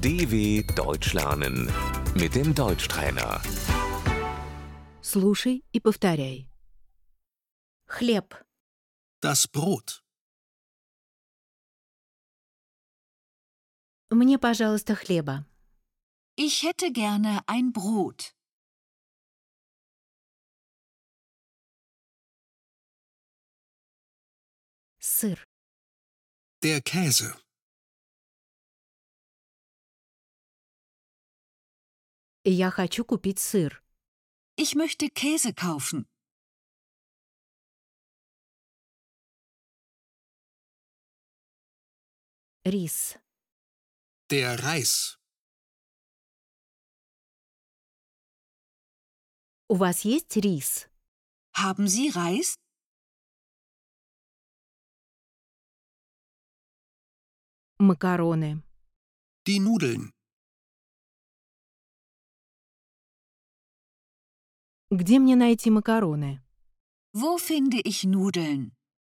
DW Deutsch lernen mit dem Deutschtrainer. Слушай и повторяй. Хлеб, Das Brot. мне, пожалуйста, хлеба. Ich hätte gerne ein Brot. Сыр, Der Käse. я хочу купить сыр. Ich möchte Käse kaufen. Рис, Der Reis. у вас есть рис? Haben Sie Reis? Макароны, Die Nudeln. где мне найти макароны? Wo finde ich Nudeln?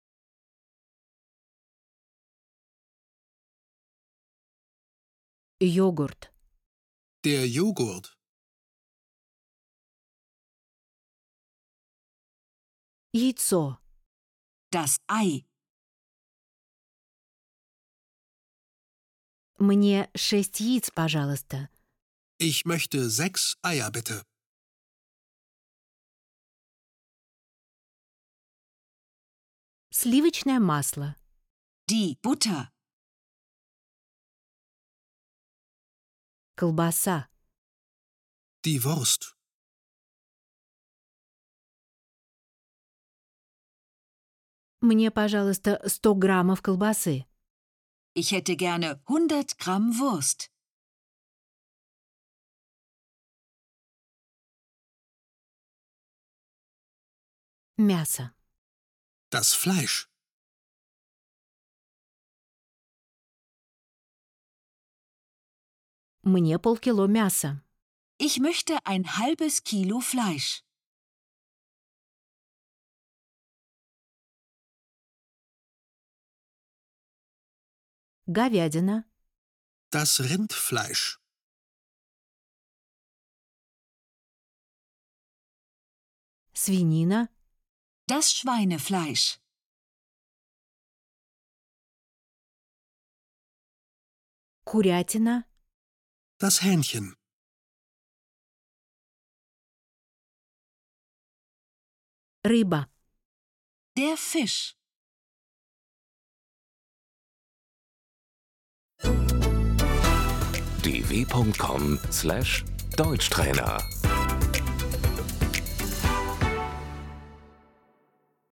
Йогурт, Der Joghurt. яйцо, Das Ei. мне 6 яиц, пожалуйста. Ich möchte 6 Eier bitte. Сливочное масло, Die Butter. колбаса, Die Wurst. мне, пожалуйста, 100 граммов колбасы. Ich hätte gerne 100 Gramm Wurst. Мясо, Das Fleisch. мне полкило мяса. Ich möchte ein halbes Kilo Fleisch. Говядина, Das Rindfleisch. свинина, Das Schweinefleisch. курятина, Das Hähnchen. рыба. Der Fisch. dw.com/Deutschtrainer